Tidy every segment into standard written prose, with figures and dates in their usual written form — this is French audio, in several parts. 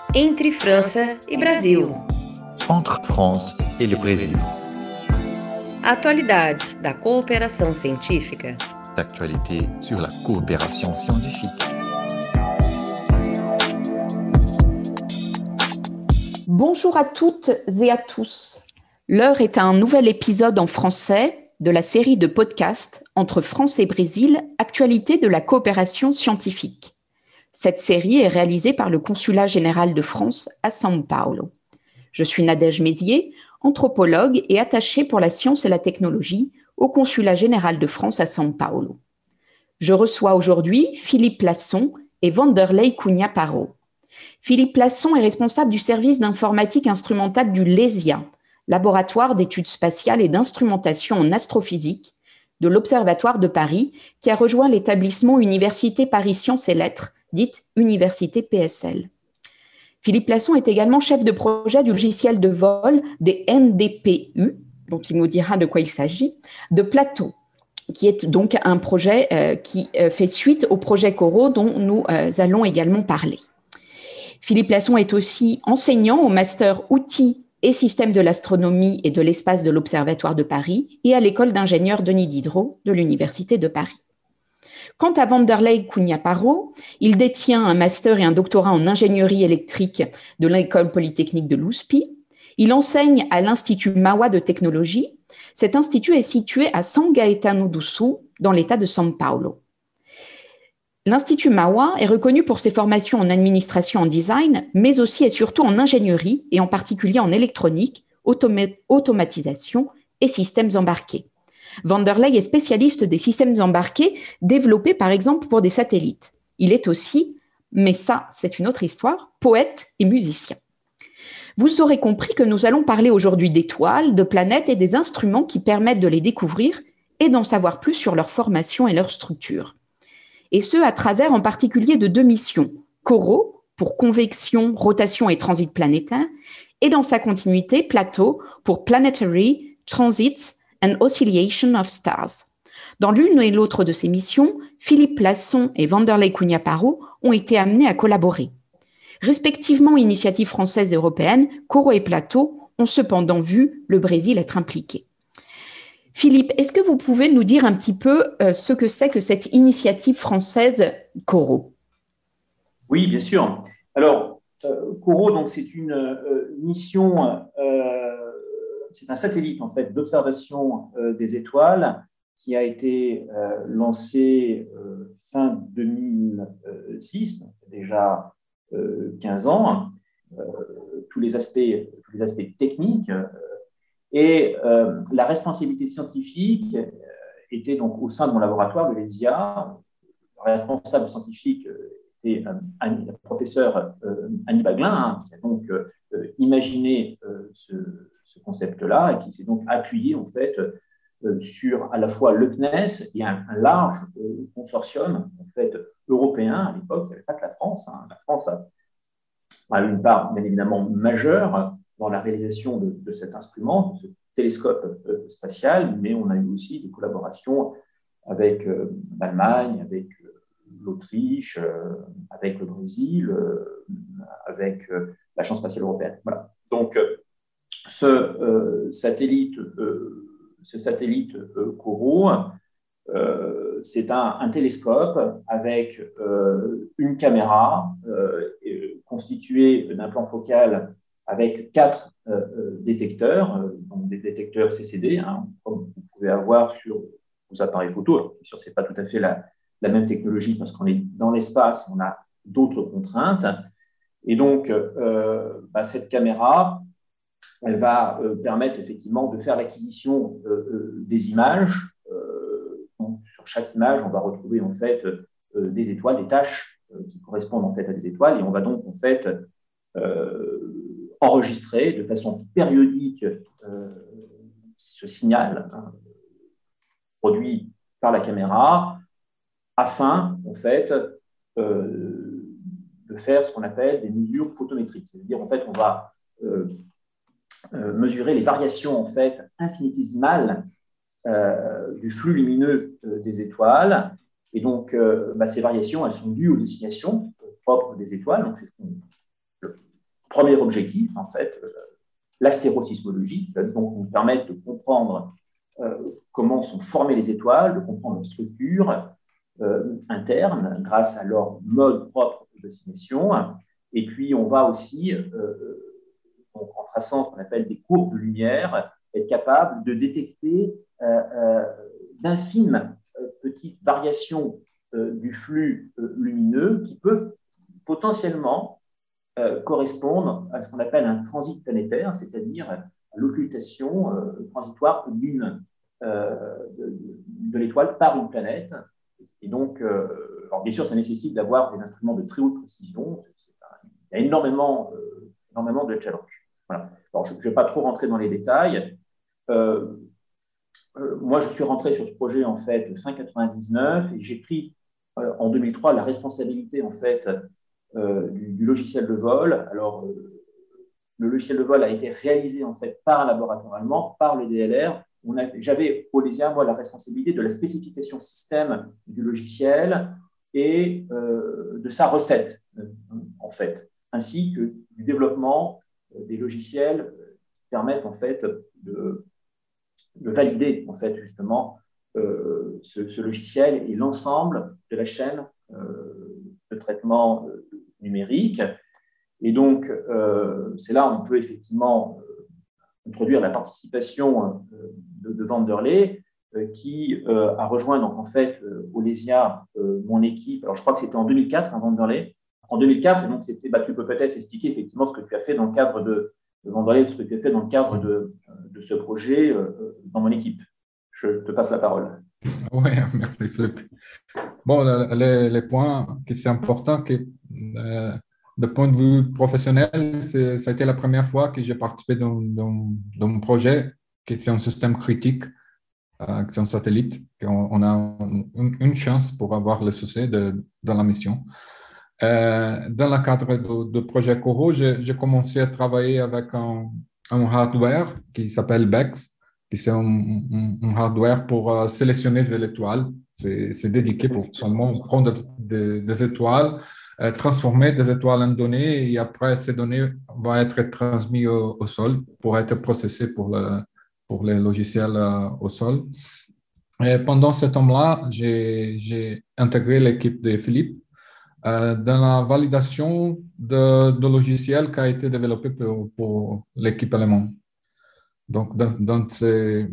Entre França e Brasil. Entre France et le Brésil. Atualidades da cooperação científica. D'actualité sur la coopération scientifique. Bonjour à toutes et à tous. L'heure est à un nouvel épisode en français de la série de podcasts Entre France et Brésil, actualité de la coopération scientifique. Cette série est réalisée par le Consulat général de France à São Paulo. Je suis Nadège Mézier, anthropologue et attachée pour la science et la technologie au Consulat général de France à São Paulo. Je reçois aujourd'hui Philippe Plasson et Vanderlei Cunha Parro. Philippe Plasson est responsable du service d'informatique instrumentale du LESIA, laboratoire d'études spatiales et d'instrumentation en astrophysique de l'Observatoire de Paris, qui a rejoint l'établissement Université Paris Sciences et Lettres, dite Université PSL. Philippe Plasson est également chef de projet du logiciel de vol des NDPU, dont il nous dira de quoi il s'agit, de Plateau, qui est donc un projet qui fait suite au projet Corot dont nous allons également parler. Philippe Plasson est aussi enseignant au master outils et systèmes de l'astronomie et de l'espace de l'Observatoire de Paris et à l'école d'ingénieurs Denis Diderot de l'Université de Paris. Quant à Vanderlei Cunha Parro, il détient un master et un doctorat en ingénierie électrique de l'École polytechnique de l'USP. Il enseigne à l'Institut Mauá de technologie. Cet institut est situé à São Gaetano do Sul, dans l'État de São Paulo. L'Institut Mauá est reconnu pour ses formations en administration en design, mais aussi et surtout en ingénierie, et en particulier en électronique, automatisation et systèmes embarqués. Vanderlei est spécialiste des systèmes embarqués développés par exemple pour des satellites. Il est aussi, mais ça c'est une autre histoire, poète et musicien. Vous aurez compris que nous allons parler aujourd'hui d'étoiles, de planètes et des instruments qui permettent de les découvrir et d'en savoir plus sur leur formation et leur structure. Et ce, à travers en particulier de deux missions, Corot, pour convection, rotation et transit planétaire, et dans sa continuité, Plateau, pour Planetary Transits and Oscillation of Stars. Dans l'une et l'autre de ces missions, Philippe Plasson et Vanderlei Cunha Parro ont été amenés à collaborer. Respectivement initiatives françaises et européennes, Corot et Plateau ont cependant vu le Brésil être impliqué. Philippe, est-ce que vous pouvez nous dire un petit peu ce que c'est que cette initiative française Corot ? Oui, bien sûr. Alors, Corot, donc, c'est une mission, c'est un satellite en fait d'observation des étoiles qui a été lancé fin 2006, donc déjà 15 ans. Tous les aspects techniques. Et la responsabilité scientifique était donc au sein de mon laboratoire, le LESIA. Le responsable scientifique était le professeur Annie Baglin, qui a donc imaginé ce concept-là et qui s'est donc appuyé en fait sur à la fois le CNES et un large consortium en fait européen à l'époque. Il n'y avait pas que la France. La France a une part bien évidemment majeure dans la réalisation de cet instrument, de ce télescope spatial, mais on a eu aussi des collaborations avec l'Allemagne, avec l'Autriche, avec le Brésil, avec l'Agence spatiale européenne. Voilà. Donc, ce satellite Corot, c'est un télescope avec une caméra constituée d'un plan focal avec 4 détecteurs, donc des détecteurs CCD, comme vous pouvez avoir sur vos appareils photo. Alors, bien sûr, ce n'est pas tout à fait la même technologie parce qu'on est dans l'espace, on a d'autres contraintes. Et donc, cette caméra, elle va permettre effectivement de faire l'acquisition des images. Donc, sur chaque image, on va retrouver en fait des étoiles, des taches qui correspondent en fait à des étoiles, et on va donc en fait enregistrer de façon périodique ce signal produit par la caméra afin en fait de faire ce qu'on appelle des mesures photométriques. C'est-à-dire en fait on va mesurer les variations en fait infinitésimales du flux lumineux des étoiles, et donc ces variations elles sont dues aux décilations propres des étoiles. Donc c'est ce qu'on premier objectif, en fait, l'astérosismologie, qui va donc nous permettre de comprendre comment sont formées les étoiles, de comprendre leur structure interne grâce à leur mode propre d'oscillation. Et puis, on va aussi, donc, en traçant ce qu'on appelle des courbes de lumière, être capable de détecter d'infimes petites variations du flux lumineux qui peuvent potentiellement correspondre à ce qu'on appelle un transit planétaire, c'est-à-dire à l'occultation transitoire de l'étoile par une planète. Et donc, alors bien sûr, ça nécessite d'avoir des instruments de très haute précision. Il y a énormément de challenges. Voilà. Alors, je ne vais pas trop rentrer dans les détails. Moi, je suis rentré sur ce projet en fait fin 99 et j'ai pris en 2003 la responsabilité en fait du logiciel de vol. Alors, le logiciel de vol a été réalisé en fait par un laboratoire allemand, par le DLR. J'avais au LESIA, moi, la responsabilité de la spécification système du logiciel et de sa recette, en fait, ainsi que du développement des logiciels qui permettent en fait de valider en fait justement ce logiciel et l'ensemble de la chaîne de traitement numérique. Et donc, c'est là où on peut effectivement introduire la participation de Vanderlei, qui a rejoint donc en fait au LESIA mon équipe. Alors, je crois que c'était en 2004, Vanderlei. En 2004, donc c'était, tu peux peut-être expliquer effectivement ce que tu as fait dans le cadre de Vanderlei, ce que tu as fait dans le cadre de ce projet dans mon équipe. Je te passe la parole. Oui, merci Philippe. Bon, les points qui sont importants, que de point de vue professionnel, ça a été la première fois que j'ai participé dans un projet qui est un système critique, qui est un satellite. On a une chance pour avoir le succès dans la mission. Dans le cadre du projet Corot, j'ai commencé à travailler avec un hardware qui s'appelle BEX, qui c'est un hardware pour sélectionner des étoiles. C'est dédié pour seulement prendre des étoiles, transformer des étoiles en données et après ces données vont être transmises au sol pour être processées pour les logiciels au sol. Et pendant ce temps-là, j'ai intégré l'équipe de Philippe dans la validation de logiciels qui a été développé pour l'équipe allemande. Donc, dans ces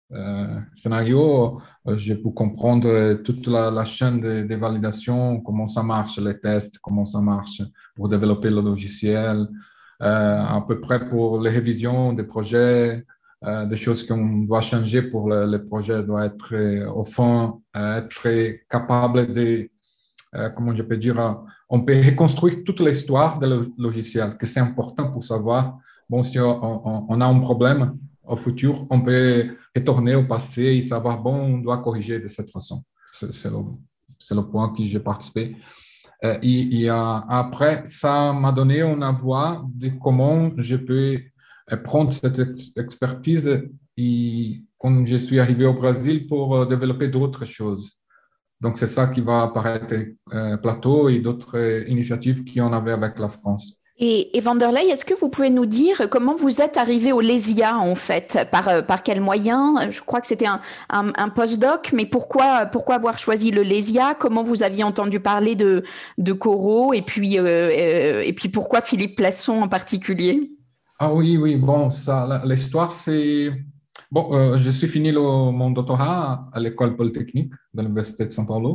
scénarios, j'ai pu comprendre toute la chaîne de validation, comment ça marche, les tests, comment ça marche pour développer le logiciel, à peu près pour les révisions des projets, des choses qu'on doit changer pour le projet, doit être au fond, être capable de, comment je peux dire, on peut reconstruire toute l'histoire du logiciel, que c'est important pour savoir, bon, si on a un problème au futur, on peut retourner au passé et savoir, bon, on doit corriger de cette façon. C'est le point que j'ai participé. Et après, ça m'a donné une voie de comment je peux prendre cette expertise et quand je suis arrivé au Brésil pour développer d'autres choses. Donc, c'est ça qui va apparaître Plateau et d'autres initiatives qu'on avait avec la France. Et Vanderlei, est-ce que vous pouvez nous dire comment vous êtes arrivé au LESIA, en fait? Par quels moyens? Je crois que c'était un postdoc, mais pourquoi avoir choisi le LESIA? Comment vous aviez entendu parler de Corot? Et puis pourquoi Philippe Plasson en particulier? Ah oui, bon, ça, l'histoire, c'est... Bon, je suis fini mon doctorat à l'école polytechnique de l'Université de São Paulo.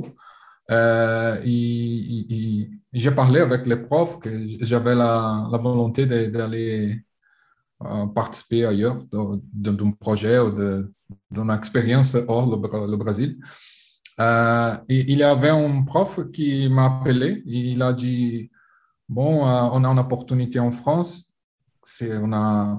Et j'ai parlé avec les profs que j'avais la volonté d'aller participer ailleurs d'un projet ou d'une expérience hors le Brésil. Et il y avait un prof qui m'a appelé. Il a dit, bon, on a une opportunité en France. C'est une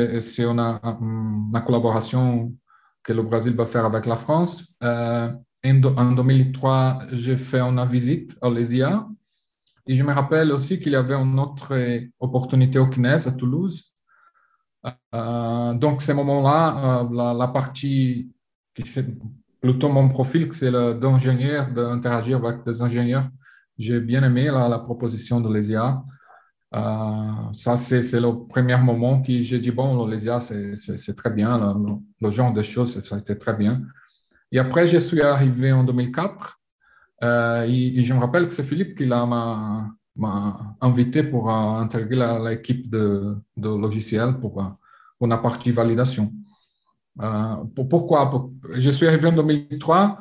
collaboration que le Brésil va faire avec la France. En 2003, j'ai fait une visite à l'ESIA et je me rappelle aussi qu'il y avait une autre opportunité au CNES à Toulouse. Donc, ce moment-là, la partie qui c'est plutôt mon profil, c'est d'ingénieur, d'interagir avec des ingénieurs, j'ai bien aimé la proposition de l'ESIA. Ça, c'est le premier moment que j'ai dit, bon, l'Olesia, c'est très bien, le genre de choses, ça a été très bien. Et après, je suis arrivé en 2004, et je me rappelle que c'est Philippe qui m'a invité pour intégrer l'équipe de logiciels pour la partie validation. Pourquoi? Je suis arrivé en 2003.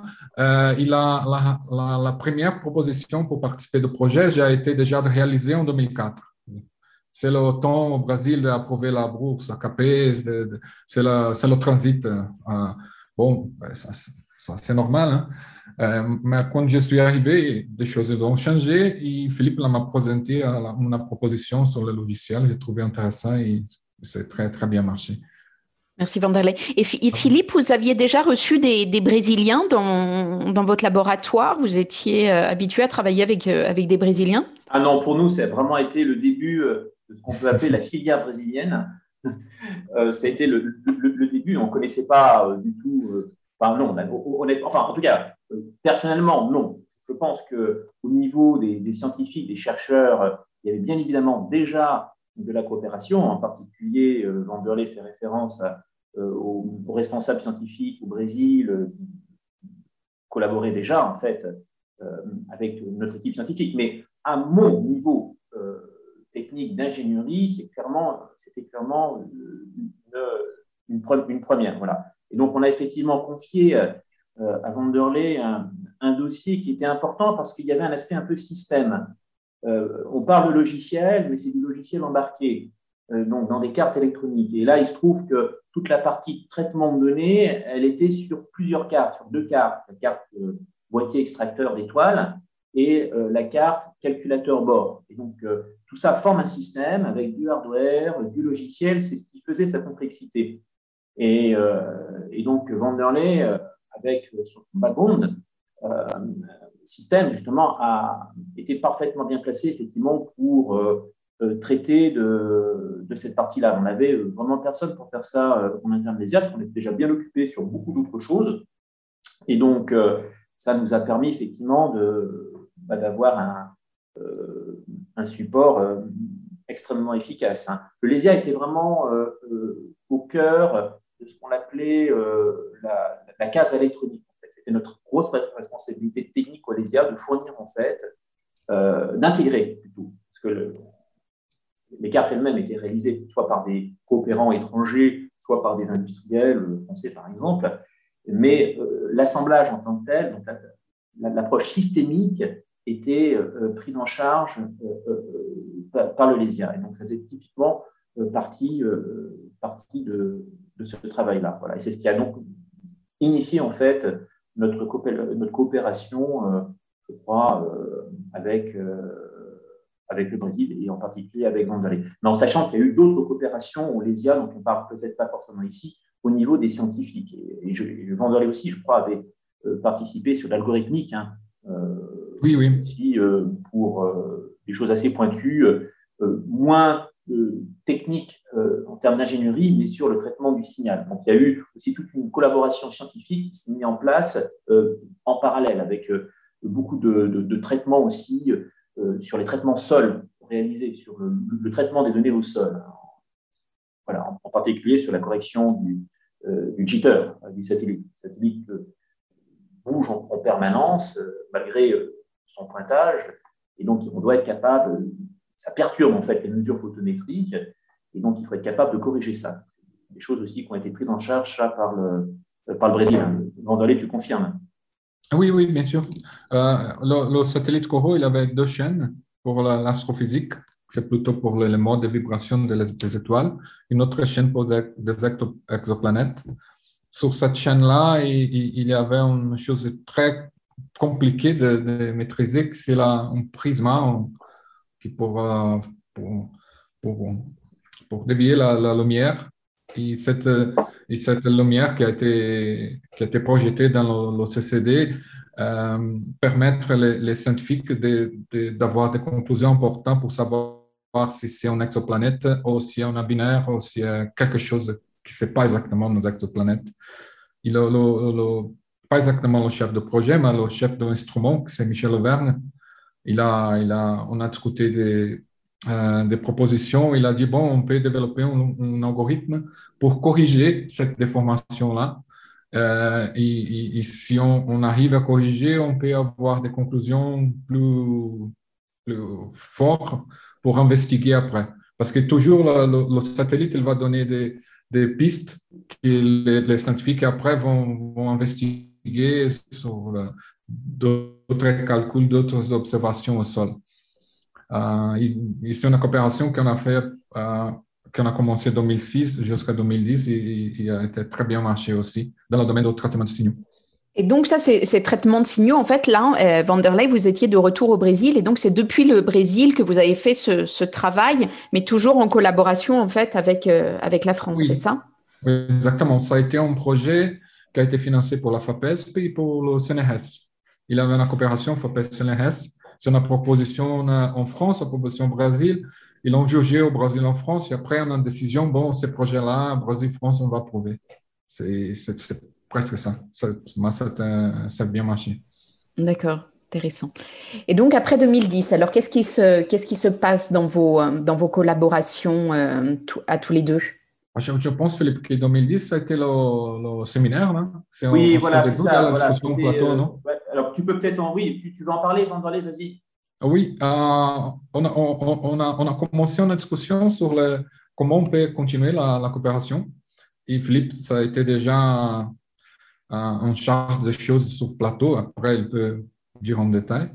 La première proposition pour participer au projet, j'ai été déjà réalisée en 2004. C'est le temps au Brésil d'approuver la bourse, la CAPES, c'est le transit. Bon, ça, c'est normal, hein? Mais quand je suis arrivé, des choses ont changé et Philippe m'a présenté une proposition sur le logiciel. J'ai trouvé intéressant et c'est très, très bien marché. Merci Vanderlei. Et Philippe, vous aviez déjà reçu des Brésiliens dans votre laboratoire? Vous étiez habitué à travailler avec des Brésiliens? Ah non, pour nous, ça a vraiment été le début de ce qu'on peut appeler la filière brésilienne. Ça a été le début. On ne connaissait pas du tout. Enfin, non, honnêtement, enfin, en tout cas, personnellement, non. Je pense qu'au niveau des scientifiques, des chercheurs, il y avait bien évidemment déjà de la coopération. En particulier, Vanderlei fait référence aux responsables scientifiques au Brésil qui collaboraient déjà, en fait, avec notre équipe scientifique. Mais à mon niveau technique d'ingénierie, c'était clairement une première. Voilà. Et donc, on a effectivement confié à Vanderlei un dossier qui était important parce qu'il y avait un aspect un peu système. On parle de logiciel, mais c'est du logiciel embarqué, donc dans des cartes électroniques. Et là, il se trouve que toute la partie traitement de données, elle était sur plusieurs cartes, sur 2 cartes. La carte boîtier extracteur d'étoiles et la carte calculateur bord. Et donc, tout ça forme un système avec du hardware, du logiciel, c'est ce qui faisait sa complexité. Et donc, Vanderlei, avec son background, système, justement, a été parfaitement bien placé, effectivement, pour traiter de cette partie-là. On n'avait vraiment personne pour faire ça en interne des IAT, on était déjà bien occupé sur beaucoup d'autres choses. Et donc, ça nous a permis, effectivement, d'avoir un support extrêmement efficace. Le LESIA était vraiment au cœur de ce qu'on appelait la case électronique. C'était notre grosse responsabilité technique au LESIA de fournir, en fait, d'intégrer plutôt, parce que les cartes elles-mêmes étaient réalisées soit par des coopérants étrangers, soit par des industriels français, par exemple, mais l'assemblage en tant que tel, donc l'approche systémique, était prise en charge par le LESIA. Et donc, ça faisait typiquement partie de ce travail-là. Voilà. Et c'est ce qui a donc initié, en fait, notre coopération, je crois, avec le Brésil et en particulier avec Vanderlei. Mais en sachant qu'il y a eu d'autres coopérations au LESIA, dont on ne parle peut-être pas forcément ici, au niveau des scientifiques. Et Vanderlei aussi, je crois, avait participé sur l'algorithmique, hein, oui. aussi pour des choses assez pointues, moins techniques en termes d'ingénierie, mais sur le traitement du signal. Donc, il y a eu aussi toute une collaboration scientifique qui s'est mise en place en parallèle, avec beaucoup de traitements aussi sur les traitements sol réalisés, sur le traitement des données au sol. Voilà, en particulier sur la correction du jitter du satellite. Le satellite bouge en permanence malgré son pointage, et donc on doit être capable, ça perturbe en fait les mesures photométriques, et donc il faut être capable de corriger ça. C'est des choses aussi qui ont été prises en charge par le Brésil. Vanderlei, tu confirmes? Oui, bien sûr. Le satellite Corot, il avait 2 chaînes pour l'astrophysique. C'est plutôt pour le mode de vibration des étoiles. Une autre chaîne pour des exoplanètes. Sur cette chaîne-là, il y avait une chose très compliquée de maîtriser, c'est un prisme qui pour dévier la lumière. Et cette lumière qui a été projetée dans le CCD permettre les scientifiques d'avoir des conclusions importantes pour savoir si c'est une exoplanète ou si c'est un binaire ou si c'est quelque chose qui ne sait pas exactement nos exoplanètes. Pas exactement le chef de projet, mais le chef de l'instrument, c'est Michel Auvergne. On a discuté des propositions. Il a dit, bon, on peut développer un algorithme pour corriger cette déformation-là. Et si on arrive à corriger, on peut avoir des conclusions plus fortes pour investiguer après. Parce que toujours, le satellite, il va donner des pistes que les scientifiques après vont investiguer sur d'autres calculs, d'autres observations au sol. C'est une coopération qu'on a fait, qu'on a commencé en 2006 jusqu'à 2010 et a été très bien marché aussi dans le domaine du traitement de signaux. Et donc ça, ces traitements de signaux, en fait, là, Vanderlei, vous étiez de retour au Brésil et donc c'est depuis le Brésil que vous avez fait ce travail, mais toujours en collaboration, en fait, avec la France, Oui. c'est ça? Oui, exactement. Ça a été un projet qui a été financé pour la FAPESP et pour le CNRS. Il y avait une coopération FAPESP-CNRS. C'est une proposition en France, une proposition au Brésil. Ils l'ont jugé au Brésil en France et après, on a une décision, bon, ces projets-là, Brésil-France, on va approuver. C'est presque ça. Ça a bien marché. D'accord, intéressant. Et donc, après 2010, alors qu'est-ce qui se passe dans vos collaborations à tous les deux? Je pense, Philippe, que 2010, ça a été le séminaire, non? Oui, voilà, c'est début ça. de la Voilà, discussion plateau, non? ouais, alors, tu peux peut-être oui, tu veux en parler, Vanderlei, vas-y. Oui, on a commencé une discussion sur comment on peut continuer la coopération. Et Philippe, ça a été déjà en charge des choses sur le plateau. Après, il peut dire en détail.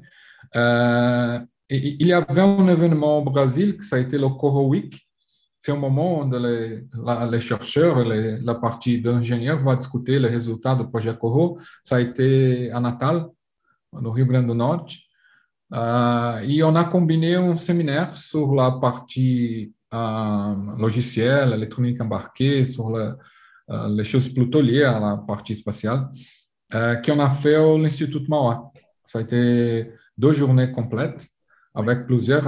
Et il y avait un événement au Brésil, ça a été le Coro Week. C'est un moment où les chercheurs, la partie d'ingénieurs va discuter les résultats du projet Coro. Ça a été à Natal, no Rio Grande do Norte. Et on a combiné un séminaire sur la partie logicielle, électronique embarquée, sur les choses plutôt liées à la partie spatiale, qu'on a fait à l'Institut Mauá. Ça a été 2 journées complètes avec plusieurs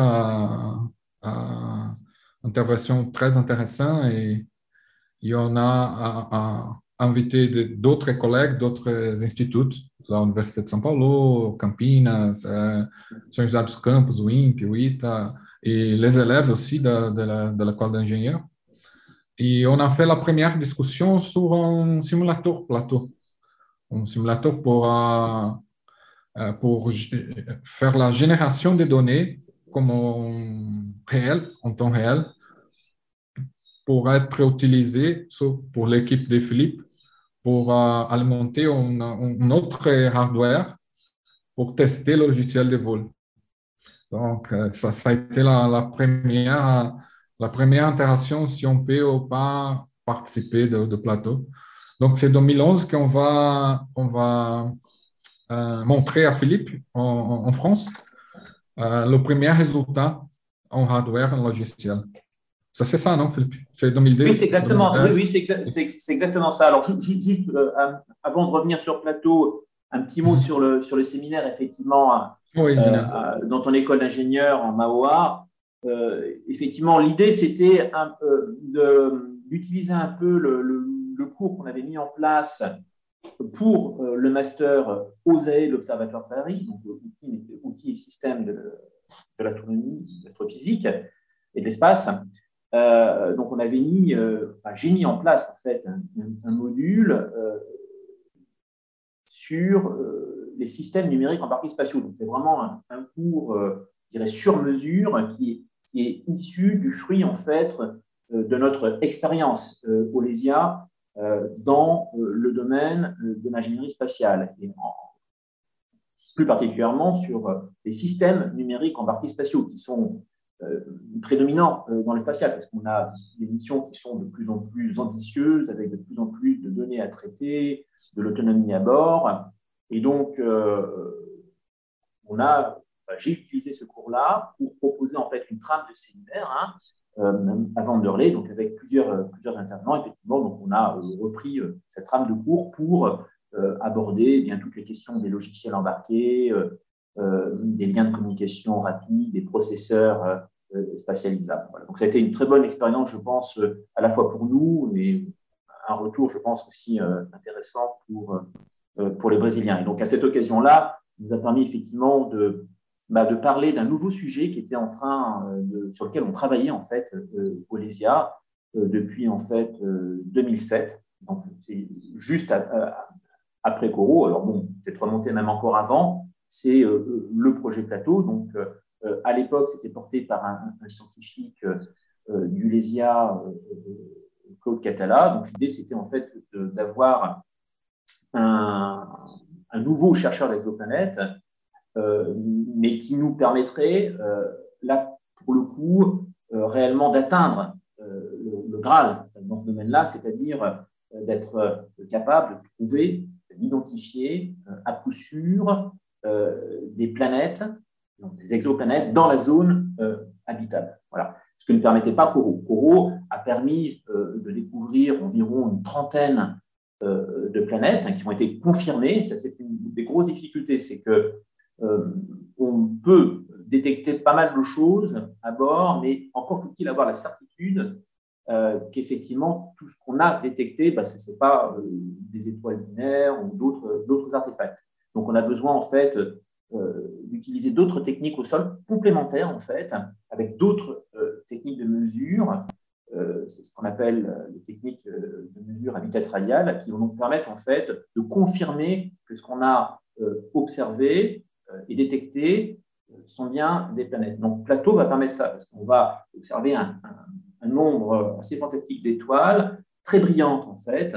interventions très intéressantes et on a invité d'autres collègues, d'autres instituts, l'Université de São Paulo, Campinas, São José dos Campos, o INPE, o ITA, et les élèves aussi de l'école d'ingénieurs. Et on a fait la première discussion sur un simulateur plateau, un simulateur pour faire la génération des données comme en temps réel, pour être utilisé pour l'équipe de Philippe pour alimenter un autre hardware pour tester le logiciel de vol. Donc, ça a été la première interaction si on peut ou pas participer de plateau. Donc, c'est 2011 qu'on va montrer à Philippe en France le premier résultat en hardware, en logiciel. Ça, c'est ça, non, Philippe? C'est 2010? Oui, c'est exactement, oui, c'est exactement ça. Alors, juste avant de revenir sur le plateau, un petit mot sur le séminaire, effectivement, oui, dans ton école d'ingénieur en Mauá. Effectivement, l'idée, c'était d'utiliser un peu le cours qu'on avait mis en place pour le master OSAE de l'Observatoire de Paris, donc outils et systèmes de l'astronomie, de l'astrophysique et de l'espace. Donc, j'ai mis en place en fait un module sur les systèmes numériques embarqués spatiaux. Donc, c'est vraiment un cours, je dirais, sur mesure qui est issu du fruit en fait de notre expérience au LESIA dans le domaine de l'ingénierie spatiale et plus particulièrement sur les systèmes numériques embarqués spatiaux qui sont prédominant dans le spatial, parce qu'on a des missions qui sont de plus en plus ambitieuses, avec de plus en plus de données à traiter, de l'autonomie à bord. Et donc, j'ai utilisé ce cours-là pour proposer en fait une trame de séminaire à Vanderlei, donc avec plusieurs intervenants. Effectivement, donc on a repris cette trame de cours pour aborder bien toutes les questions des logiciels embarqués, des liens de communication rapides, des processeurs spatialisables. Voilà. Donc, ça a été une très bonne expérience, je pense, à la fois pour nous, mais un retour, je pense, aussi intéressant pour les Brésiliens. Et donc, à cette occasion-là, ça nous a permis effectivement de parler d'un nouveau sujet qui était sur lequel on travaillait en fait au LESIA depuis en fait 2007. Donc c'est juste après Corot. Alors bon, peut-être remonté même encore avant. C'est le projet Plateau. Donc à l'époque, c'était porté par un scientifique du LESIA, Claude Catala. Donc l'idée, c'était en fait d'avoir un nouveau chercheur d'exoplanètes, mais qui nous permettrait, là, pour le coup, réellement d'atteindre le Graal dans ce domaine-là, c'est-à-dire d'être capable de trouver, d'identifier à coup sûr des planètes, donc des exoplanètes, dans la zone habitable. Voilà. Ce que ne permettait pas Corot. Corot a permis de découvrir environ une trentaine de planètes qui ont été confirmées. Ça, c'est une des grosses difficultés, c'est que on peut détecter pas mal de choses à bord, mais encore faut-il avoir la certitude qu'effectivement, tout ce qu'on a détecté, ce n'est pas des étoiles binaires ou d'autres artefacts. Donc, on a besoin, en fait, d'utiliser d'autres techniques au sol complémentaires, en fait, avec d'autres techniques de mesure. C'est ce qu'on appelle les techniques de mesure à vitesse radiale, qui vont nous permettre, en fait, de confirmer que ce qu'on a observé et détecté sont bien des planètes. Donc, Plateau va permettre ça, parce qu'on va observer un nombre assez fantastique d'étoiles, très brillantes en fait,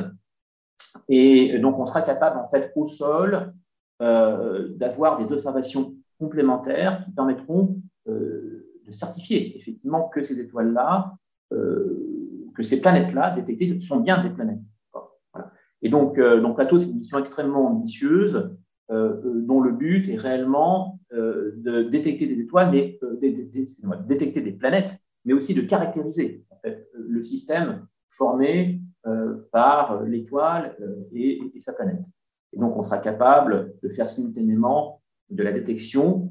et donc on sera capable en fait au sol d'avoir des observations complémentaires qui permettront de certifier effectivement que ces étoiles-là, que ces planètes-là détectées sont bien des planètes. Voilà. Et donc Plateau, c'est une mission extrêmement ambitieuse dont le but est réellement de détecter des étoiles, mais détecter des planètes, mais aussi de caractériser en fait, le système formé par l'étoile et sa planète. Et donc, on sera capable de faire simultanément de la détection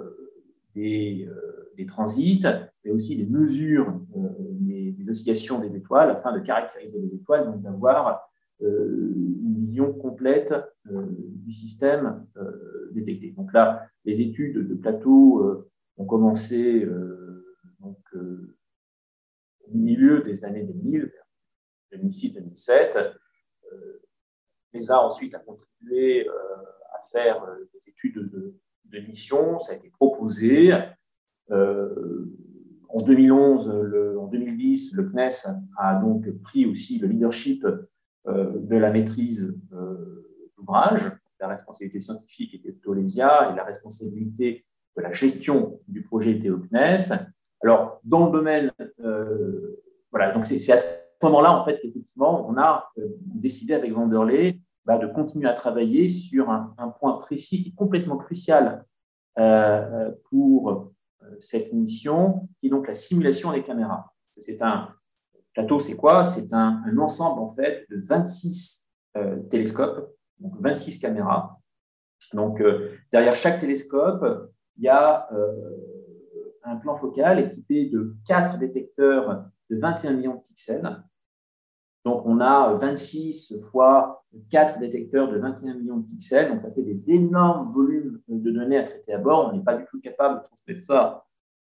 des transits, mais aussi des mesures des oscillations des étoiles afin de caractériser les étoiles, donc d'avoir une vision complète du système détecté. Donc là, les études de Plateau ont commencé au milieu des années 2000, 2006-2007. l'ESA ensuite a contribué à faire des études de mission. Ça a été proposé. En 2011, en 2010, le CNES a donc pris aussi le leadership de la maîtrise d'ouvrage. La responsabilité scientifique était plutôt l'ESIA et la responsabilité de la gestion du projet était au CNES. Alors, dans le domaine, voilà, donc c'est à ce moment-là, en fait, qu'effectivement, on a décidé avec Vanderlei de continuer à travailler sur un point précis qui est complètement crucial pour cette mission, qui est donc la simulation des caméras. Plateau, c'est quoi? C'est un ensemble, en fait, de 26 télescopes, donc 26 caméras. Donc, derrière chaque télescope, il y a un plan focal équipé de 4 détecteurs de 21 millions de pixels. Donc, on a 26 fois 4 détecteurs de 21 millions de pixels. Donc, ça fait des énormes volumes de données à traiter à bord. On n'est pas du tout capable de transmettre ça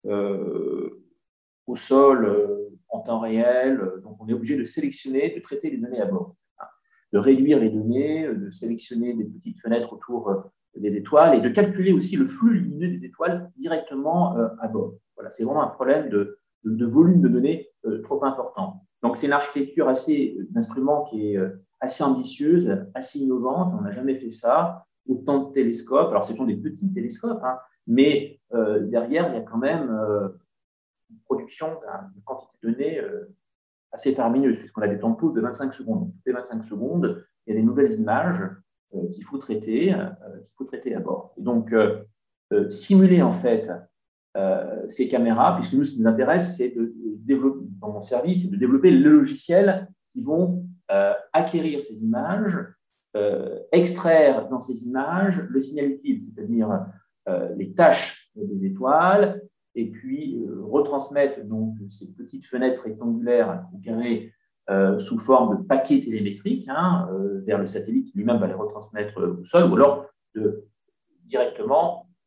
au sol en temps réel. Donc, on est obligé de sélectionner, de traiter les données à bord, de réduire les données, de sélectionner des petites fenêtres autour des étoiles et de calculer aussi le flux lumineux des étoiles directement à bord. Voilà, c'est vraiment un problème de volume de données trop important. Donc, c'est une architecture d'instrument qui est assez ambitieuse, assez innovante. On n'a jamais fait ça. Autant de télescopes. Alors, ce sont des petits télescopes, mais derrière, il y a quand même une production d'une quantité de données assez faramineuse, puisqu'on a des temps de pause de 25 secondes. Donc, toutes les 25 secondes, il y a des nouvelles images qu'il faut traiter à bord. Et donc, simuler en fait ces caméras, puisque nous, ce qui nous intéresse, c'est de développer, dans mon service, c'est de développer les logiciels qui vont acquérir ces images, extraire dans ces images le signal utile, c'est-à-dire les tâches des étoiles, et puis retransmettre donc ces petites fenêtres rectangulaires ou carrées sous forme de paquets télémétriques vers le satellite qui lui-même va les retransmettre au sol, ou alors directement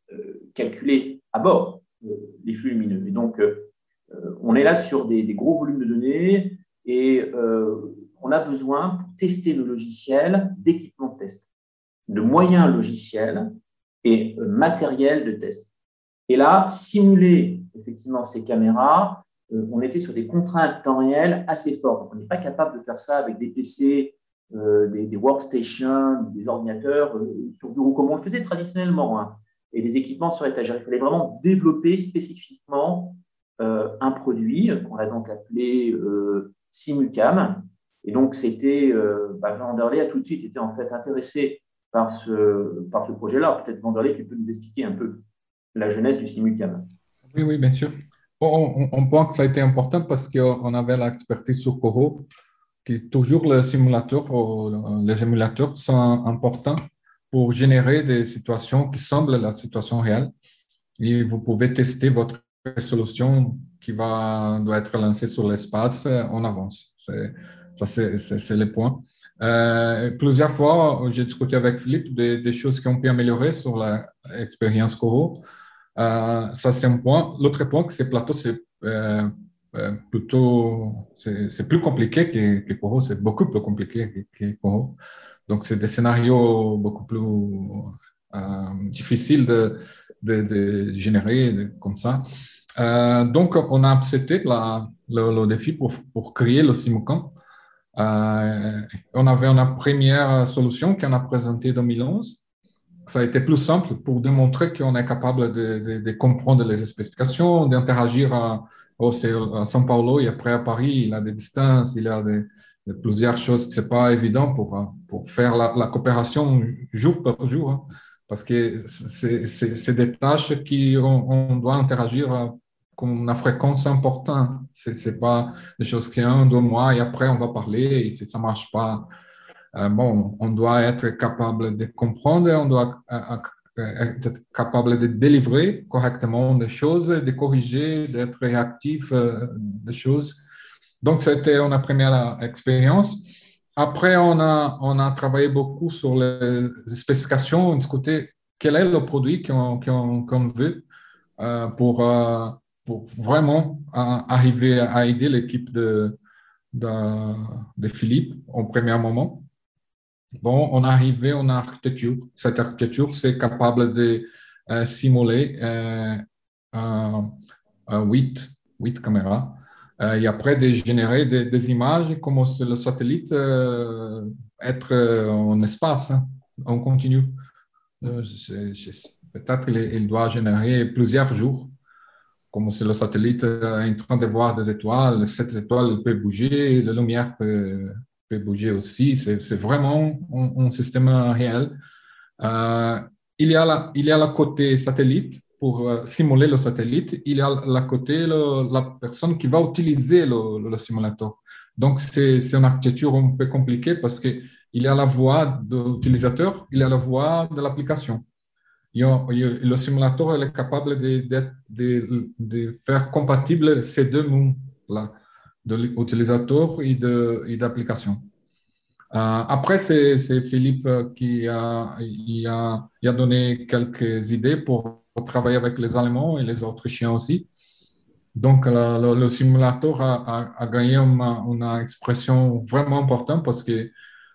calculer à bord les flux lumineux. Et donc, on est là sur des gros volumes de données et on a besoin, pour tester le logiciel, d'équipements de test, de moyens logiciels et matériel de test. Et là, simuler effectivement ces caméras, on était sur des contraintes temps réel assez fortes. On n'est pas capable de faire ça avec des PC, des workstations, des ordinateurs sur bureau comme on le faisait traditionnellement, hein, et des équipements sur étagère. Il fallait vraiment développer spécifiquement un produit qu'on a donc appelé Simulcam. Et donc, c'était Vanderlei a tout de suite été en fait intéressé par ce projet-là. Peut-être Vanderlei, tu peux nous expliquer un peu la jeunesse du Simulcam. Oui, oui, bien sûr. Bon, on pense que ça a été important parce qu'on avait l'expertise sur Coro, qui toujours les simulateurs, les émulateurs sont importants pour générer des situations qui semblent la situation réelle. Et vous pouvez tester votre solution qui doit être lancée sur l'espace en avance. C'est le point. Plusieurs fois, j'ai discuté avec Philippe des choses qui ont pu améliorer sur l'expérience Coro. Ça, c'est un point. L'autre point, c'est plateau, c'est c'est plus compliqué que Coro, c'est beaucoup plus compliqué que Coro. Donc, c'est des scénarios beaucoup plus difficiles de générer comme ça. Donc, on a accepté le défi pour créer le Simulcam. On avait une première solution qu'on a présentée en 2011. Ça a été plus simple pour démontrer qu'on est capable de comprendre les spécifications, d'interagir à São Paulo et après à Paris. Il y a des distances, il y a plusieurs choses que ce n'est pas évident pour faire la coopération jour par jour, hein, parce que c'est des tâches qu'on doit interagir comme une fréquence importante. Ce n'est pas des choses qu'un, 2 mois et après on va parler et si ça ne marche pas. Bon, on doit être capable de comprendre, on doit être capable de délivrer correctement des choses, de corriger, d'être réactif des choses. Donc, c'était une première expérience. Après, on a travaillé beaucoup sur les spécifications, discuter quel est le produit qu'on veut pour vraiment arriver à aider l'équipe de Philippe au premier moment. Bon, on est arrivé en architecture. Cette architecture, c'est capable de simuler 8 caméras et après de générer des images comme si le satellite être en espace, hein, en continu. Peut-être qu'il doit générer plusieurs jours, comme si le satellite est en train de voir des étoiles. Cette étoile peut bouger, la lumière peut bouger aussi. C'est vraiment un système réel. Il y a le côté satellite pour simuler le satellite. Il y a le côté la personne qui va utiliser le simulateur. Donc, c'est une architecture un peu compliquée parce qu'il y a la voix de l'utilisateur, il y a la voix de l'application. Le simulateur est capable de faire compatible ces deux mondes-là, de l'utilisateur et d'application. Après, c'est Philippe qui a donné quelques idées pour travailler avec les Allemands et les Autrichiens aussi. Donc, le simulateur a gagné une expression vraiment importante parce que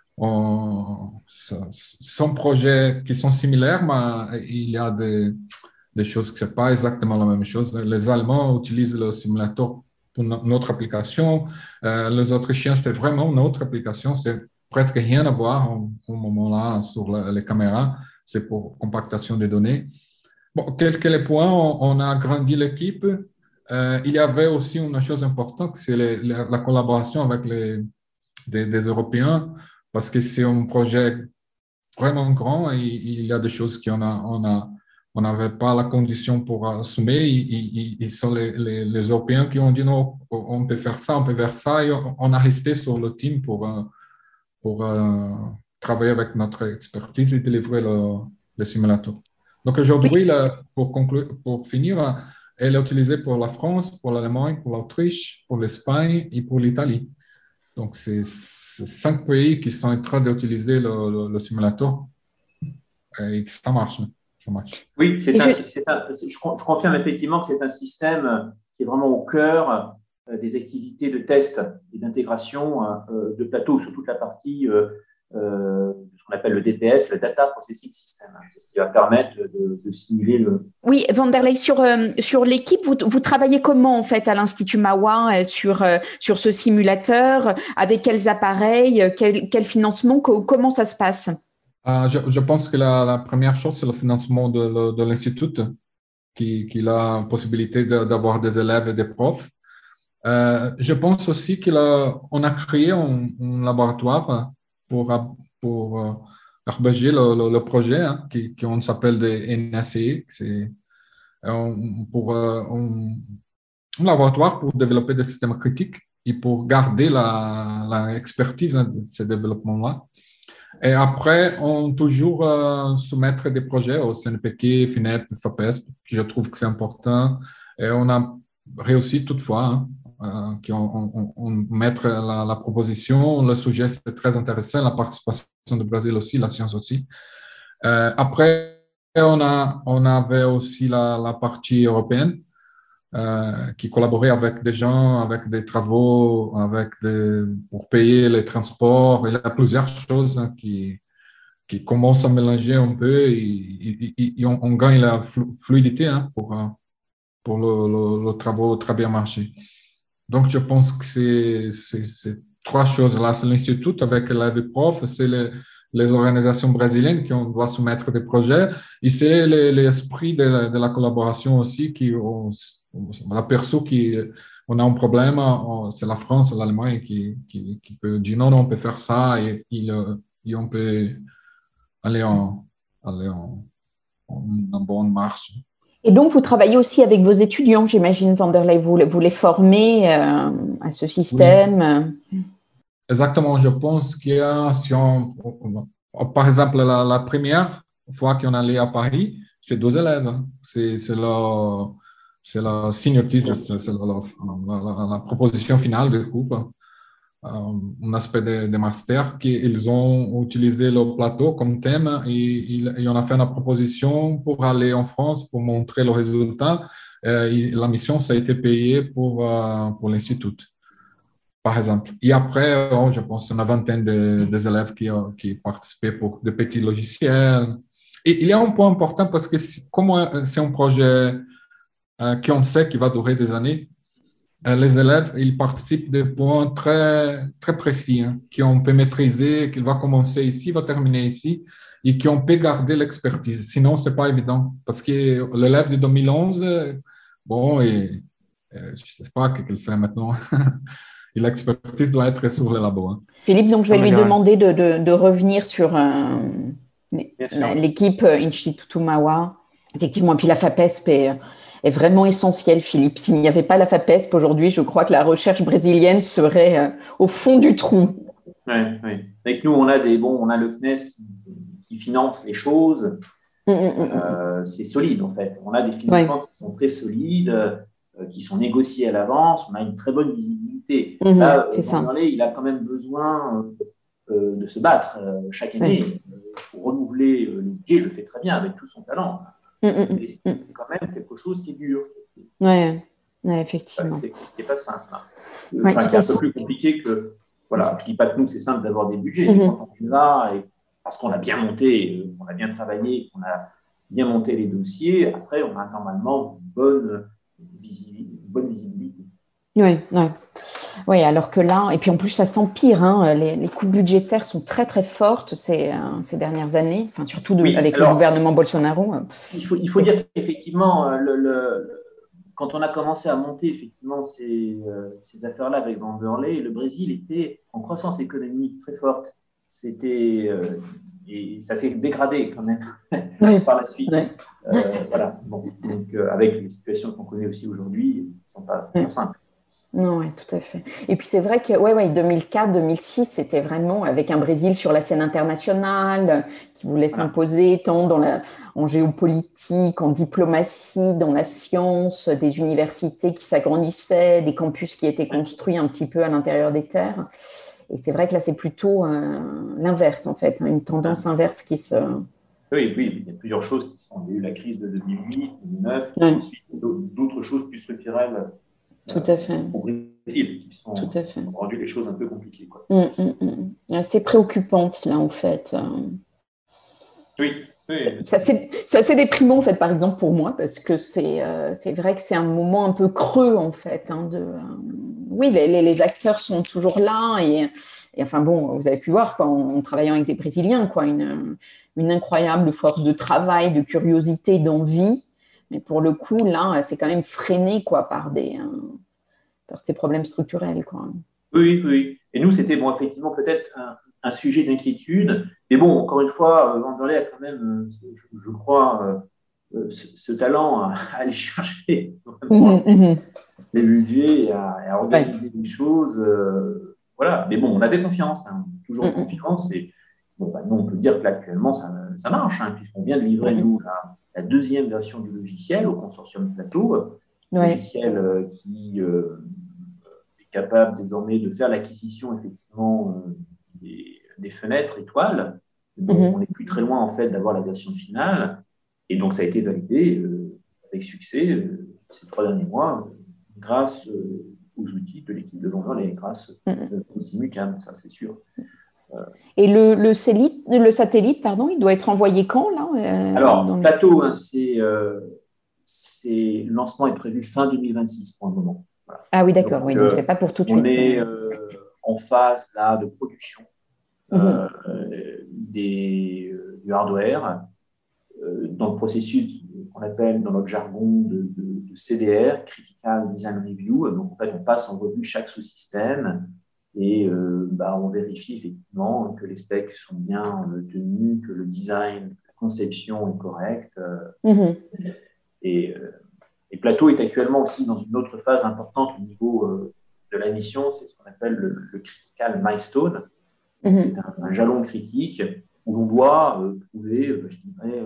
sont projets qui sont similaires, mais il y a des choses qui ne sont pas exactement la même chose. Les Allemands utilisent le simulateur pour notre application. Les Autrichiens, c'est vraiment notre application. C'est presque rien à voir au moment-là sur les caméras. C'est pour compactation des données. Bon, quelques points, on a agrandi l'équipe. Il y avait aussi une chose importante, c'est la collaboration avec des Européens, parce que c'est un projet vraiment grand et il y a des choses qu'on n'avait pas la condition pour assumer. Ils sont les Européens qui ont dit non, on peut faire ça, on peut faire ça. Et on a resté sur le team pour travailler avec notre expertise et délivrer le simulateur. Donc aujourd'hui, pour finir, elle est utilisée pour la France, pour l'Allemagne, pour l'Autriche, pour l'Espagne et pour l'Italie. Donc, c'est 5 pays qui sont en train d'utiliser le simulateur et que ça marche. ça marche. Oui, je confirme effectivement que c'est un système qui est vraiment au cœur des activités de test et d'intégration de plateau sur toute la partie ce qu'on appelle le DPS, le Data Processing System. C'est ce qui va permettre de simuler le… Oui, Vanderlei, sur l'équipe, vous travaillez comment en fait à l'Institut Mahwah sur ce simulateur? Avec quels appareils? Quel financement? Comment ça se passe? Je pense que la première chose, c'est le financement de l'Institut, qui a la possibilité d'avoir des élèves et des profs. Je pense aussi qu'on a créé un laboratoire pour héberger le projet, hein, qu'on s'appelle des NACE. C'est un laboratoire pour développer des systèmes critiques et pour garder la expertise de ces développements-là. Et après, on toujours soumettre des projets au CNPq, FINEP, FAPESP. Je trouve que c'est important. Et on a réussi toutefois qu'on mette la proposition. Le sujet, c'est très intéressant. La participation du Brésil aussi, la science aussi. Après, on avait aussi la partie européenne qui collaborait avec des gens, avec des travaux, pour payer les transports. Il y a plusieurs choses qui commencent à mélanger un peu et on gagne la fluidité pour le travaux très bien marché. Donc, je pense que c'est trois choses là. C'est l'Institut avec l'AVProf, c'est les organisations brésiliennes qui doivent soumettre des projets et c'est l'esprit de la collaboration aussi on aperçu qu'on a un problème, c'est la France, l'Allemagne qui peut dire non, on peut faire ça et on peut aller en bonne marche. Et donc, vous travaillez aussi avec vos étudiants, j'imagine, Vanderlei, vous les formez à ce système. Oui. Exactement, je pense qu'il y a, par exemple, la première fois qu'on allait à Paris, c'est 2 élèves. C'est la senior thesis, c'est la proposition finale du cours, un aspect de master qu'ils ont utilisé le plateau comme thème et on a fait une proposition pour aller en France pour montrer le résultat. Et la mission, ça a été payée pour l'Institut, par exemple. Et après, je pense une vingtaine des élèves qui participaient pour de petits logiciels. Et il y a un point important parce que comme c'est un projet qu'on sait qu'il va durer des années, les élèves, ils participent de points très, très précis, hein, qu'on peut maîtriser, qu'il va commencer ici, va terminer ici, et qu'on peut garder l'expertise. Sinon, ce n'est pas évident. Parce que l'élève de 2011, bon, je ne sais pas ce qu'il fait maintenant. Et l'expertise doit être sur le labo. Hein. Philippe, donc je vais lui demander de revenir sur l'équipe Instituto Mahwah. Effectivement, et puis la FAPESP est vraiment essentielle, Philippe. S'il n'y avait pas la FAPESP aujourd'hui, je crois que la recherche brésilienne serait au fond du trou. Oui, oui. Avec nous, on a le CNES qui finance les choses. C'est solide, en fait. On a des financements qui sont très solides, qui sont négociés à l'avance. On a une très bonne visibilité. Là, Vanderlei, il a quand même besoin de se battre chaque année pour renouveler le budget. Il le fait très bien avec tout son talent. Mais c'est quand même quelque chose qui est dur. Oui, effectivement. Qui n'est pas simple. Qui est un peu plus compliqué que… Voilà, je ne dis pas que nous, c'est simple d'avoir des budgets. Mais quand on les a, parce qu'on a bien monté, on a bien travaillé, qu'on a bien monté les dossiers, après, on a normalement une bonne visibilité. Oui, alors que là, et puis en plus, ça s'empire. Hein, les coupes budgétaires sont très, très fortes ces dernières années, enfin, surtout avec le gouvernement Bolsonaro. Il faut dire qu'effectivement, quand on a commencé à monter effectivement ces affaires-là avec Vanderlei, le Brésil était en croissance économique très forte. Et ça s'est dégradé quand même par la suite. Voilà. Bon, donc, avec les situations qu'on connaît aussi aujourd'hui, qui ne sont pas simples. Non, oui, tout à fait. Et puis c'est vrai que 2004-2006, c'était vraiment avec un Brésil sur la scène internationale qui voulait s'imposer tant en géopolitique, en diplomatie, dans la science, des universités qui s'agrandissaient, des campus qui étaient construits un petit peu à l'intérieur des terres. Et c'est vrai que là, c'est plutôt l'inverse, en fait, une tendance inverse qui se Oui, oui, il y a plusieurs choses qui sont. Il y a eu la crise de 2008, 2009, et Ouais. ensuite d'autres choses plus structurelles Tout à fait. au Brésil qui Tout à fait. ont rendu les choses un peu compliquées, quoi. C'est préoccupante, là, en fait. Oui, oui. C'est assez déprimant, en fait, par exemple, pour moi, parce que c'est vrai que c'est un moment un peu creux, en fait. Oui, les acteurs sont toujours là. Et enfin, bon, vous avez pu voir, quoi, en travaillant avec des Brésiliens, quoi, une incroyable force de travail, de curiosité, d'envie. Mais pour le coup, là, c'est quand même freiné, quoi, par ces problèmes structurels, quoi. Oui, oui. Et nous, c'était bon, effectivement peut-être un sujet d'inquiétude. Mais bon, encore une fois, Vanderlei a quand même, je crois, ce talent à aller chercher vraiment les budgets et à organiser les choses. Voilà. Mais bon, on avait confiance, hein, toujours confiance. Et bon, bah, nous, on peut dire que là, actuellement, ça marche, hein, puisqu'on vient de livrer, nous, la deuxième version du logiciel au consortium Plateau, logiciel qui capable désormais de faire l'acquisition effectivement des fenêtres étoiles. Donc, on n'est plus très loin en fait d'avoir la version finale. Et donc, ça a été validé avec succès ces 3 derniers mois grâce aux outils de l'équipe de Vanderlei et grâce au Simucam, ça c'est sûr. Et le satellite, pardon, il doit être envoyé quand là Alors, Plateau, hein, le lancement est prévu fin 2026 pour le moment. Voilà. Ah oui, d'accord, donc, donc c'est pas pour tout de suite. On est en phase là, de production du hardware dans le processus qu'on appelle dans notre jargon de CDR, Critical Design Review. Donc, en fait, on passe en revue chaque sous-système et on vérifie effectivement que les specs sont bien tenus, que le design, la conception est correcte. Et Plateau est actuellement aussi dans une autre phase importante au niveau de la mission, c'est ce qu'on appelle le Critical Milestone. C'est un jalon critique où l'on doit prouver, je dirais,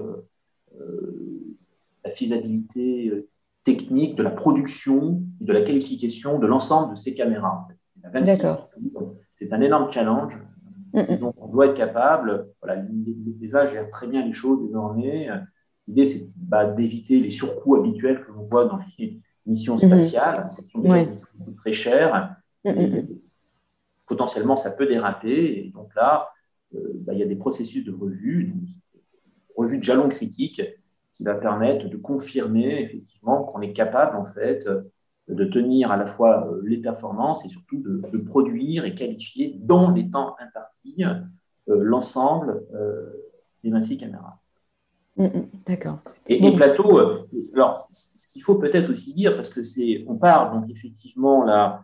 la faisabilité technique de la production et de la qualification de l'ensemble de ces caméras. Il y en a 26. C'est un énorme challenge. Donc, on doit être capable, voilà, l'ESA gère très bien les choses désormais. L'idée, c'est d'éviter les surcoûts habituels que l'on voit dans les missions spatiales. Ce sont déjà des missions très chères. Potentiellement, ça peut déraper. Et donc là, il y a des processus de revue de jalon critique qui va permettre de confirmer effectivement qu'on est capable en fait de tenir à la fois les performances et surtout de produire et qualifier dans les temps impartis l'ensemble des 26 caméras. D'accord. Et Plateau, alors ce qu'il faut peut-être aussi dire, parce que on part donc effectivement là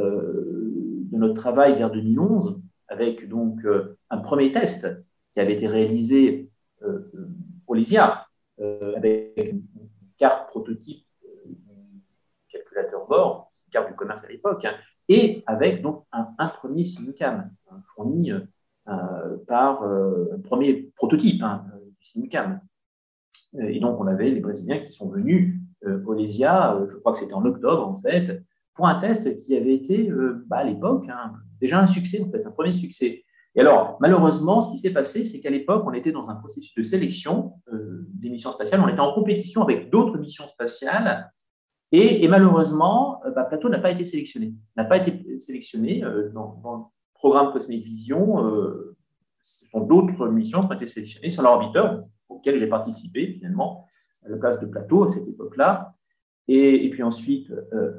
de notre travail vers 2011 avec donc un premier test qui avait été réalisé au LISIA avec une carte prototype du calculateur bord, une carte du commerce à l'époque, hein, et avec donc un premier Simucam fourni par un premier prototype du Simucam. Et donc, on avait les Brésiliens qui sont venus au LISIA, je crois que c'était en octobre en fait, pour un test qui avait été à l'époque déjà un succès, en fait, un premier succès. Et alors, malheureusement, ce qui s'est passé, c'est qu'à l'époque, on était dans un processus de sélection des missions spatiales, on était en compétition avec d'autres missions spatiales, et malheureusement, Plateau n'a pas été sélectionné. N'a pas été sélectionné dans le programme Cosmic Vision. Ce sont d'autres missions qui ont été sélectionnées sur l'orbiteur, auquel j'ai participé finalement à la place de Plateau à cette époque-là. Et puis ensuite,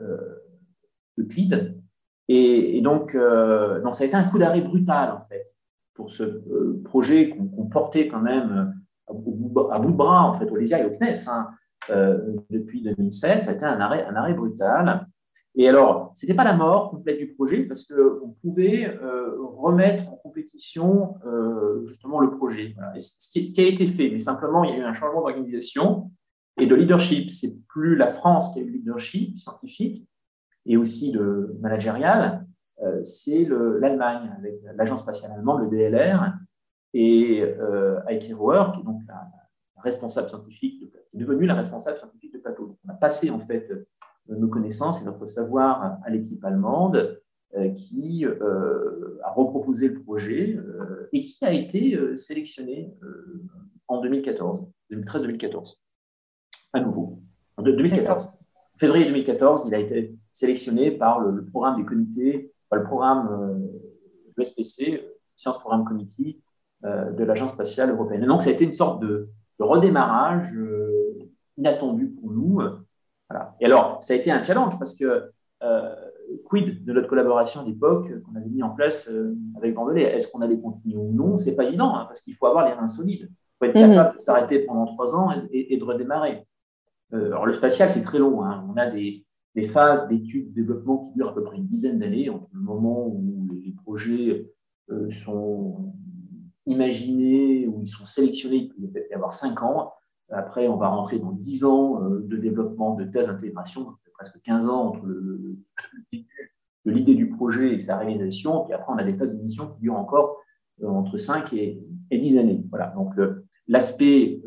Euclide. Et donc, ça a été un coup d'arrêt brutal, en fait, pour ce projet qu'on portait quand même à bout de bras, en fait, au LISIA et au CNES, depuis 2007. Ça a été un arrêt brutal. Et alors, ce n'était pas la mort complète du projet, parce qu'on pouvait remettre en compétition justement le projet. Voilà. Et ce qui a été fait, mais simplement, il y a eu un changement d'organisation et de leadership. Ce n'est plus la France qui a eu le leadership scientifique, et aussi le managérial, c'est l'Allemagne, avec l'agence spatiale allemande, le DLR, et Heike Roer, qui est donc la responsable scientifique, qui est devenue la responsable scientifique de Plateau. Donc, on a passé en fait nos connaissances et notre savoir à l'équipe allemande, qui a reproposé le projet et qui a été sélectionné en en 2014, 2013-2014, à nouveau. En 2014. Février 2014, il a été sélectionné par le programme des comités, le programme le SPC, Science Programme Committee, de l'Agence spatiale européenne. Et donc, ça a été une sorte de redémarrage inattendu pour nous. Voilà. Et alors, ça a été un challenge parce que quid de notre collaboration d'époque qu'on avait mis en place avec Vandelay? Est-ce qu'on allait continuer ou non? C'est pas évident hein, parce qu'il faut avoir les reins solides. Il faut être capable de s'arrêter pendant 3 ans et de redémarrer. Alors, le spatial, c'est très long. Hein. On a des phases d'études, de développement qui durent à peu près une dizaine d'années entre le moment où les projets sont imaginés, où ils sont sélectionnés, il peut peut-être y avoir 5 ans. Après, on va rentrer dans 10 ans de développement, de thèse d'intégration, donc presque 15 ans entre le début de l'idée du projet et sa réalisation. Puis après, on a des phases de mission qui durent encore entre 5 et 10 années. Voilà. Donc, l'aspect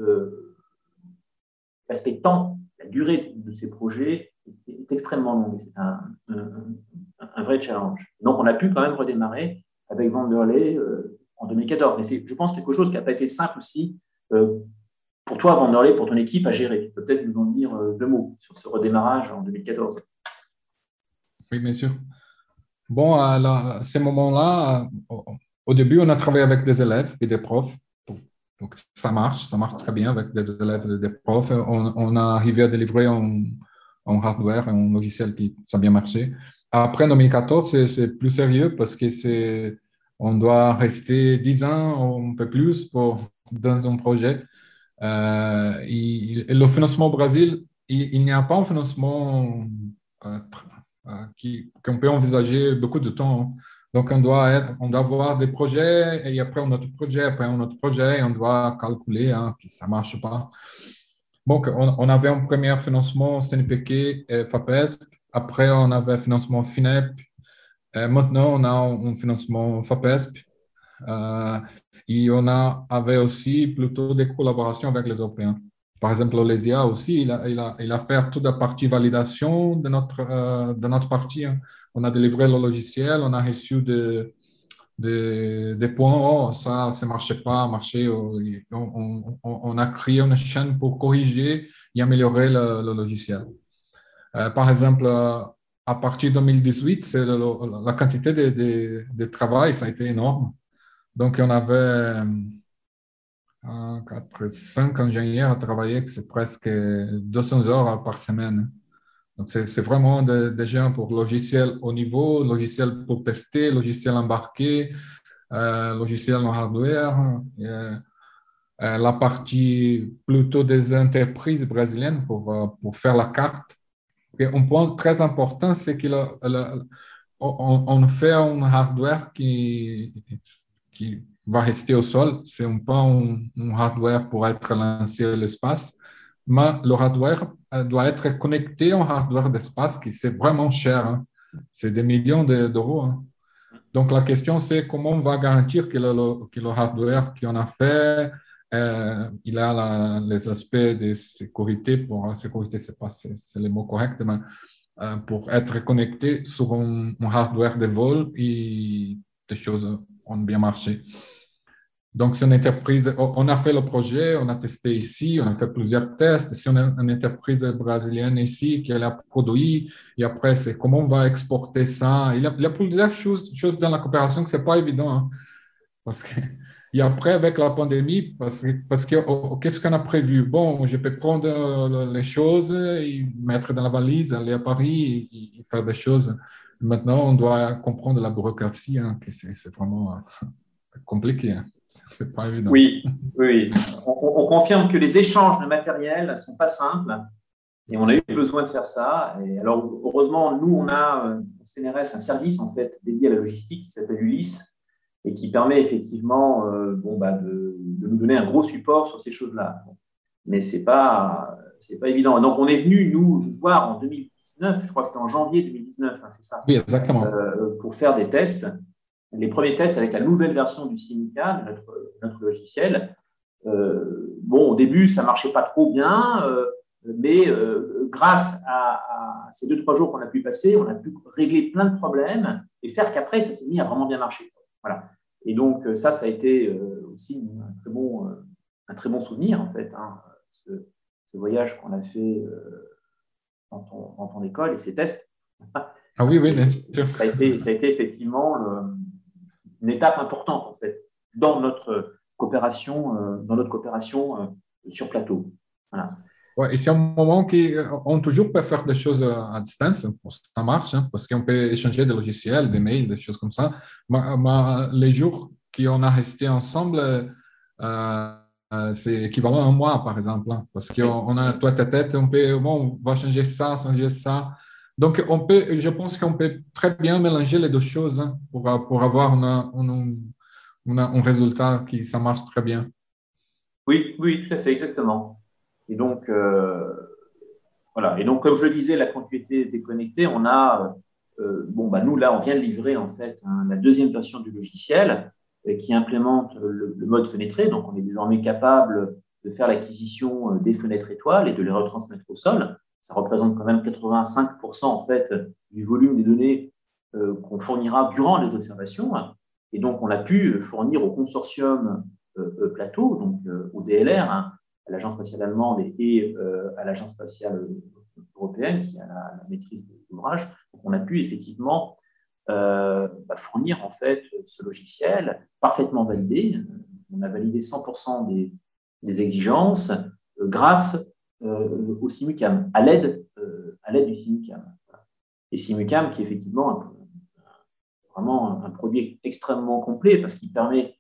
temps, la durée de ces projets est extrêmement longue. C'est un vrai challenge. Donc, on a pu quand même redémarrer avec Vanderlei en 2014. Mais c'est, je pense, quelque chose qui n'a pas été simple aussi pour toi, Vanderlei, pour ton équipe à gérer. Peut-être nous en dire 2 mots sur ce redémarrage en 2014. Oui, bien sûr. Bon, à ces moments-là, au début, on a travaillé avec des élèves et des profs. Donc, ça marche très bien avec des élèves et des profs. On a arrivé à délivrer un hardware, un logiciel qui ça a bien marché. Après, en 2014, c'est plus sérieux parce que on doit rester 10 ans, un peu plus, dans un projet. Et le financement au Brésil, il n'y a pas un financement qu'on peut envisager beaucoup de temps. Donc, on doit avoir des projets et après un autre projet, et on doit calculer que ça ne marche pas. Donc, on avait un premier financement CNPq et FAPESP. Après, on avait un financement FINEP. Maintenant, on a un financement FAPESP. Et on avait aussi plutôt des collaborations avec les Européens. Par exemple, l'Olesia aussi, il a fait toute la partie validation de notre partie. Hein. On a délivré le logiciel, on a reçu des points, ça ne marchait pas, on a créé une chaîne pour corriger et améliorer le logiciel. Par exemple, à partir de 2018, la quantité de travail, ça a été énorme. Donc, on avait 5 ingénieurs à travailler, c'est presque 200 heures par semaine. Donc, c'est vraiment des gens pour logiciel haut niveau, logiciel pour tester, logiciel embarqué, logiciel en hardware, la partie plutôt des entreprises brésiliennes pour faire la carte. Et un point très important, c'est qu'on fait un hardware qui va rester au sol. Ce n'est pas un hardware pour être lancé à l'espace, mais le hardware doit être connecté à un hardware d'espace qui c'est vraiment cher. Hein. C'est des millions d'euros. Hein. Donc, la question, c'est comment on va garantir que le hardware qu'on a fait, il a les aspects de sécurité. Sécurité, c'est le mot correct, mais pour être connecté sur un hardware de vol et des choses ont bien marché. Donc, c'est une entreprise, on a fait le projet, on a testé ici, on a fait plusieurs tests. C'est une entreprise brésilienne ici qui a produit. Et après, c'est comment on va exporter ça. Il y a plusieurs choses dans la coopération que ce n'est pas évident. Hein, et après, avec la pandémie, parce que qu'est-ce qu'on a prévu? Bon, je peux prendre les choses et mettre dans la valise, aller à Paris et faire des choses. Maintenant, on doit comprendre la bureaucratie, hein, que c'est vraiment compliqué. Hein. C'est pas évident. Oui. On confirme que les échanges de matériel ne sont pas simples et on a eu besoin de faire ça. Et alors, heureusement, nous, on a au CNRS un service en fait dédié à la logistique qui s'appelle Ulysse et qui permet effectivement de nous donner un gros support sur ces choses-là. Mais c'est pas évident. Donc, on est venu nous voir en 2019, je crois que c'était en janvier 2019, hein, c'est ça. Oui, exactement. Pour faire des tests. Les premiers tests avec la nouvelle version du Sinica, de notre logiciel. Au début, ça ne marchait pas trop bien, mais grâce à ces 2-3 jours qu'on a pu passer, on a pu régler plein de problèmes et faire qu'après, ça s'est mis à vraiment bien marcher. Voilà. Et donc, ça a été aussi un très bon un très bon souvenir, en fait, ce voyage qu'on a fait dans ton école et ces tests. Ah oui, bien sûr. Ça a été effectivement une étape importante, en fait, dans notre coopération, sur plateau. Voilà. Ouais, et c'est un moment qu'on toujours peut faire des choses à distance, ça marche, hein, parce qu'on peut échanger des logiciels, des mails, des choses comme ça. Mais les jours qu'on a resté ensemble, c'est équivalent à un mois, par exemple, hein, parce qu'on a toi à tête, on va changer ça, changer ça. Donc, je pense qu'on peut très bien mélanger les deux choses, hein, pour avoir un résultat qui ça marche très bien. Oui, tout à fait, exactement. Et donc, voilà. Et donc, comme je le disais, la continuité déconnectée, on a, nous, là, on vient de livrer, en fait, la deuxième version du logiciel qui implémente le mode fenêtré. Donc, on est désormais capable de faire l'acquisition des fenêtres étoiles et de les retransmettre au sol. Ça représente quand même 85% en fait du volume des données qu'on fournira durant les observations. Et donc, on a pu fournir au consortium Plateau, donc au DLR, à l'Agence spatiale allemande et à l'Agence spatiale européenne qui a la maîtrise de l'ouvrage. Donc, on a pu effectivement fournir en fait ce logiciel parfaitement validé. On a validé 100% des exigences grâce au SIMUCAM, à l'aide du SIMUCAM. Et SIMUCAM qui est effectivement vraiment un produit extrêmement complet parce qu'il permet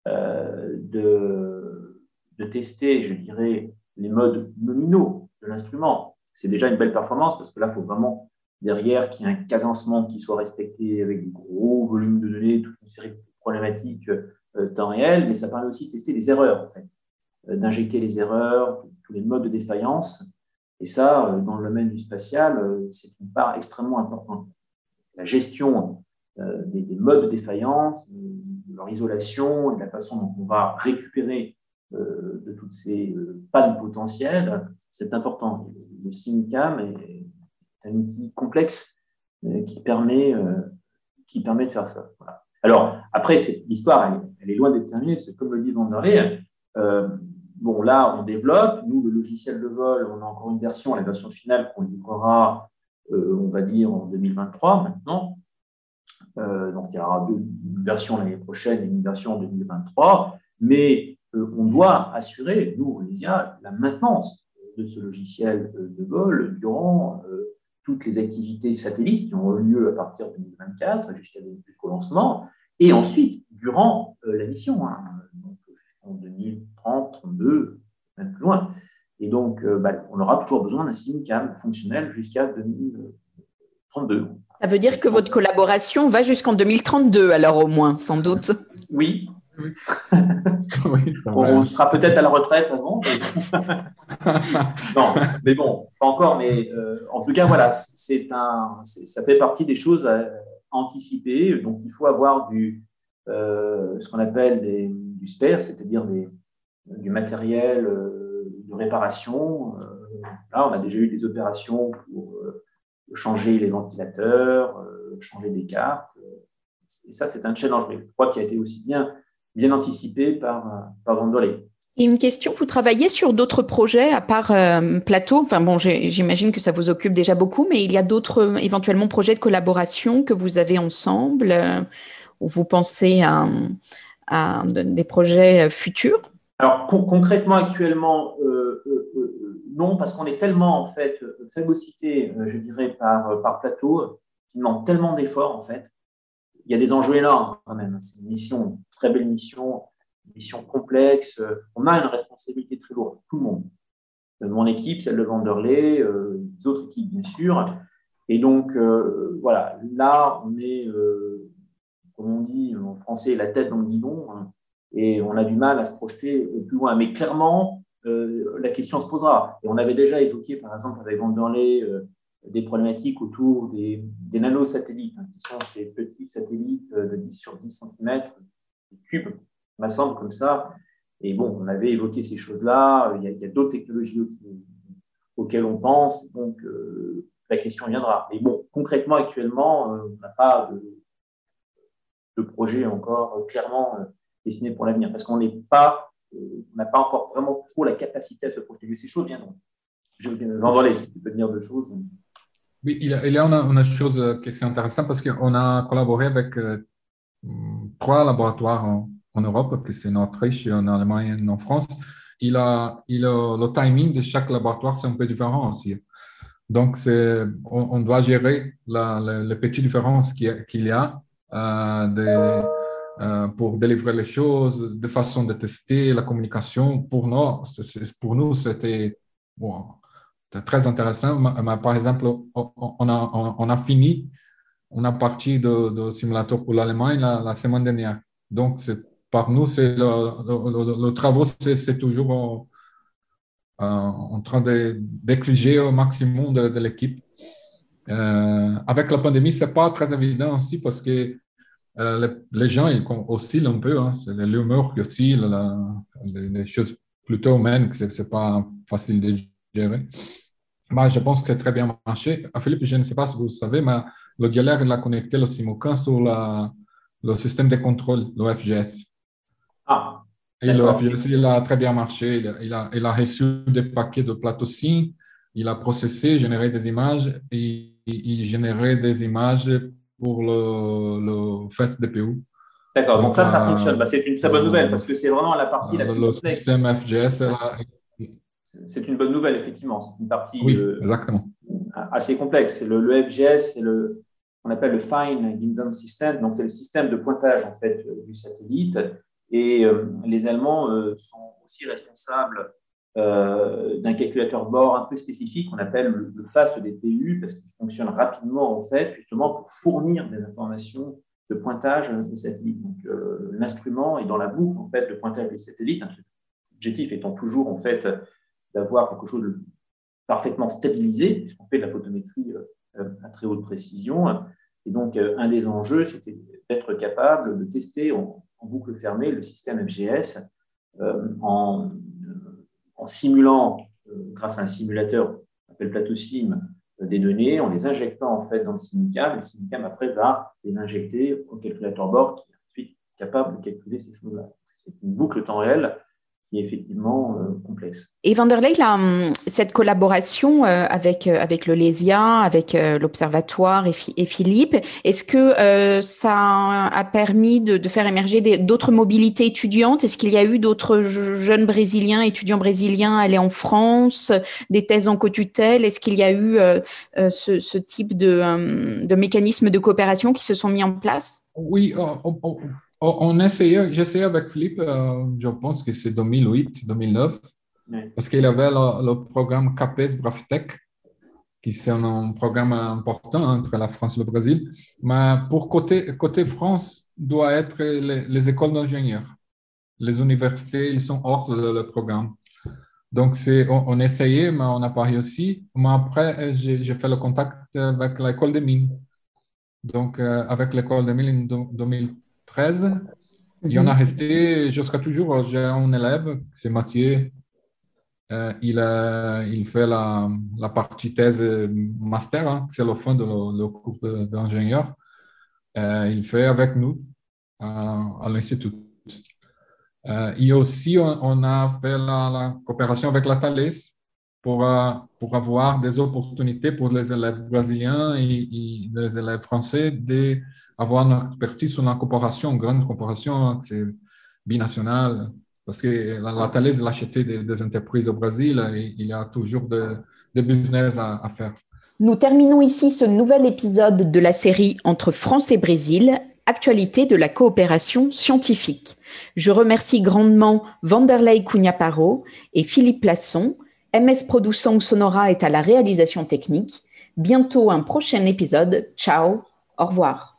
de tester, je dirais, les modes nominaux de l'instrument. C'est déjà une belle performance parce que là, il faut vraiment derrière qu'il y ait un cadencement qui soit respecté avec des gros volumes de données, toute une série de problématiques temps réel, mais ça permet aussi de tester les erreurs, en fait, d'injecter les erreurs, tous les modes de défaillance. Et ça, dans le domaine du spatial, c'est une part extrêmement importante. La gestion des modes de défaillance, de leur isolation et de la façon dont on va récupérer de toutes ces pannes potentielles, c'est important. Le SIMUCAM est un outil complexe qui permet de faire ça. Voilà. Alors, après, l'histoire, elle est loin d'être terminée, parce que comme le dit Vanderlei, là, on développe. Nous, le logiciel de vol, on a encore une version, la version finale qu'on livrera, on va dire, en 2023 maintenant. Donc, il y aura une version l'année prochaine et une version en 2023. Mais on doit assurer, nous, Olysia, la maintenance de ce logiciel de vol durant toutes les activités satellites qui auront lieu à partir de 2024 jusqu'au lancement, et ensuite durant la mission, donc en 2030, 2032, même plus loin. Et donc, on aura toujours besoin d'un SIMUCAM fonctionnel jusqu'à 2032. Ça veut dire que votre collaboration va jusqu'en 2032, alors au moins, sans doute. Oui. Oui, on sera peut-être à la retraite avant. Non, mais bon, pas encore. Mais en tout cas, voilà, ça fait partie des choses à anticiper. Donc, il faut avoir ce qu'on appelle du spare, c'est-à-dire du matériel de réparation. Là, on a déjà eu des opérations pour changer les ventilateurs, changer des cartes. Et ça, c'est un challenge, mais je crois qu'il a été aussi bien anticipé par Vanderlei. Et une question, vous travaillez sur d'autres projets à part Plateau? Enfin bon, j'imagine que ça vous occupe déjà beaucoup, mais il y a d'autres éventuellement projets de collaboration que vous avez ensemble, ou vous pensez à des projets futurs? Alors concrètement, actuellement, non, parce qu'on est tellement en fait phagocyté, je dirais, par Plateau, qui demande tellement d'efforts en fait. Il y a des enjeux énormes quand même. C'est une très belle mission complexe. On a une responsabilité très lourde, tout le monde. Mon équipe, celle de Vanderlei, les autres équipes, bien sûr. Et donc, voilà, là, on est, comme on dit en français, la tête dans le guidon, hein, et on a du mal à se projeter plus loin. Mais clairement, la question se posera. Et on avait déjà évoqué, par exemple, avec Vanderlei, des problématiques autour des nanosatellites, hein, qui sont ces petits satellites de 10 sur 10 cm, des cubes, m'assemble comme ça. Et bon, on avait évoqué ces choses-là. Il y a d'autres technologies auxquelles on pense. Donc, la question viendra. Mais bon, concrètement, actuellement, on n'a pas de projet encore clairement dessiné pour l'avenir parce qu'on n'est pas on n'a pas encore vraiment trop la capacité à se projeter. Mais ces choses viendront. Vanderlei, si tu peux dire deux choses. Oui, il y a une chose qui est intéressante parce qu'on a collaboré avec 3 laboratoires en Europe, que c'est en Autriche, en Allemagne et en France. Le timing de chaque laboratoire, c'est un peu différent aussi. Donc, on doit gérer les petites différences qu'il y a pour délivrer les choses, de façon de tester la communication. Pour nous c'était très intéressant. Mais, par exemple, on a fini, on a parti de simulateur pour l'Allemagne la semaine dernière. Donc, par nous, le travail, c'est toujours en train d'exiger au maximum de l'équipe. Avec la pandémie, ce n'est pas très évident aussi parce que les gens ils oscillent un peu. Hein. C'est l'humeur qui oscille, les choses plutôt humaines, que ce n'est pas facile de gérer. Mais je pense que c'est très bien marché. Philippe, je ne sais pas si vous le savez, mais le galère, il a connecté le Simocan sur le système de contrôle, le FGS. Ah, et le FGS, il a très bien marché. Il a reçu des paquets de plateaux SIM, il a processé, généré des images et il générait des images pour le FEST DPU. D'accord, donc ça fonctionne. C'est une très bonne nouvelle parce que c'est vraiment la partie la plus complexe. Le système FGS, c'est une bonne nouvelle, effectivement. C'est une partie exactement. Assez complexe. Le FGS, c'est on appelle le Fine Guidance System. Donc, c'est le système de pointage en fait, du satellite. Et les Allemands sont aussi responsables d'un calculateur bord un peu spécifique qu'on appelle le FAST DPU parce qu'il fonctionne rapidement, en fait, justement pour fournir des informations de pointage de satellites. Donc, l'instrument est dans la boucle, en fait, de pointage des satellites. L'objectif étant toujours, en fait, d'avoir quelque chose de parfaitement stabilisé, puisqu'on fait de la photométrie à très haute précision. Et donc, un des enjeux, c'était d'être capable de tester en boucle fermée le système FGS en simulant, grâce à un simulateur qu'on appelle plateau SIM, des données, en les injectant en fait dans le SIMUCAM. Et le SIMUCAM, après, va les injecter au calculateur bord qui est ensuite capable de calculer ces choses-là. C'est une boucle temps réel qui est effectivement complexe. Et Vanderlei, cette collaboration avec le LESIA, avec l'Observatoire et Philippe, est-ce que ça a permis de faire émerger d'autres mobilités étudiantes? Est-ce qu'il y a eu d'autres jeunes Brésiliens, étudiants brésiliens allés en France, des thèses en co-tutelle? Est-ce qu'il y a eu ce type de mécanismes de coopération qui se sont mis en place? Oui, j'ai essayé avec Philippe, je pense que c'est 2008-2009, parce qu'il avait le programme CAPES Brafitech, qui c'est un programme important entre la France et le Brésil. Mais pour côté France, doit être les écoles d'ingénieurs. Les universités, ils sont hors le programme. Donc, on essayait, mais on n'a pas réussi. Mais après, j'ai fait le contact avec l'école des mines. Donc, avec l'école des mines en 2013, il y en a resté jusqu'à toujours. J'ai un élève, c'est Mathieu. Il fait la partie thèse master, hein, c'est le fond de le cours d'ingénieur. Il fait avec nous à l'Institut. Et aussi, on a fait la coopération avec la Thales pour avoir des opportunités pour les élèves brésiliens et les élèves français d'avoir une expertise sur la coopération, une grande coopération, c'est binationale. Parce que la Thales a acheté des entreprises au Brésil et il y a toujours des business à faire. Nous terminons ici ce nouvel épisode de la série Entre France et Brésil, actualité de la coopération scientifique. Je remercie grandement Vanderlei Cunha-Paro et Philippe Plasson. MS Produção Sonora est à la réalisation technique. Bientôt un prochain épisode. Ciao, au revoir.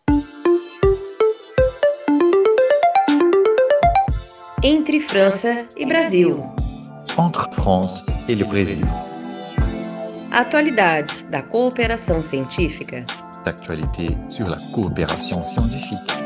Entre França e Brasil. Entre France et le Brésil. Atualidades da cooperação científica. D'actualité sur la coopération scientifique.